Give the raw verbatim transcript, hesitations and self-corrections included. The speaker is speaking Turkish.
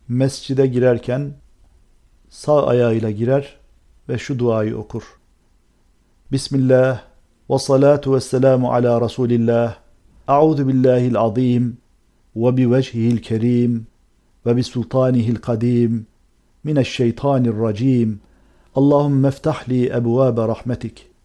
mescide girerken sağ ayağıyla girer ve şu duayı okur. Bismillah ve salatu ve selamu ala Resulillah. A'udhu billahil azim ve bi vechihil kerim ve bi sultanihil kadim mineşşeytanirracim. Allahümme ftah li ebvâbe rahmetik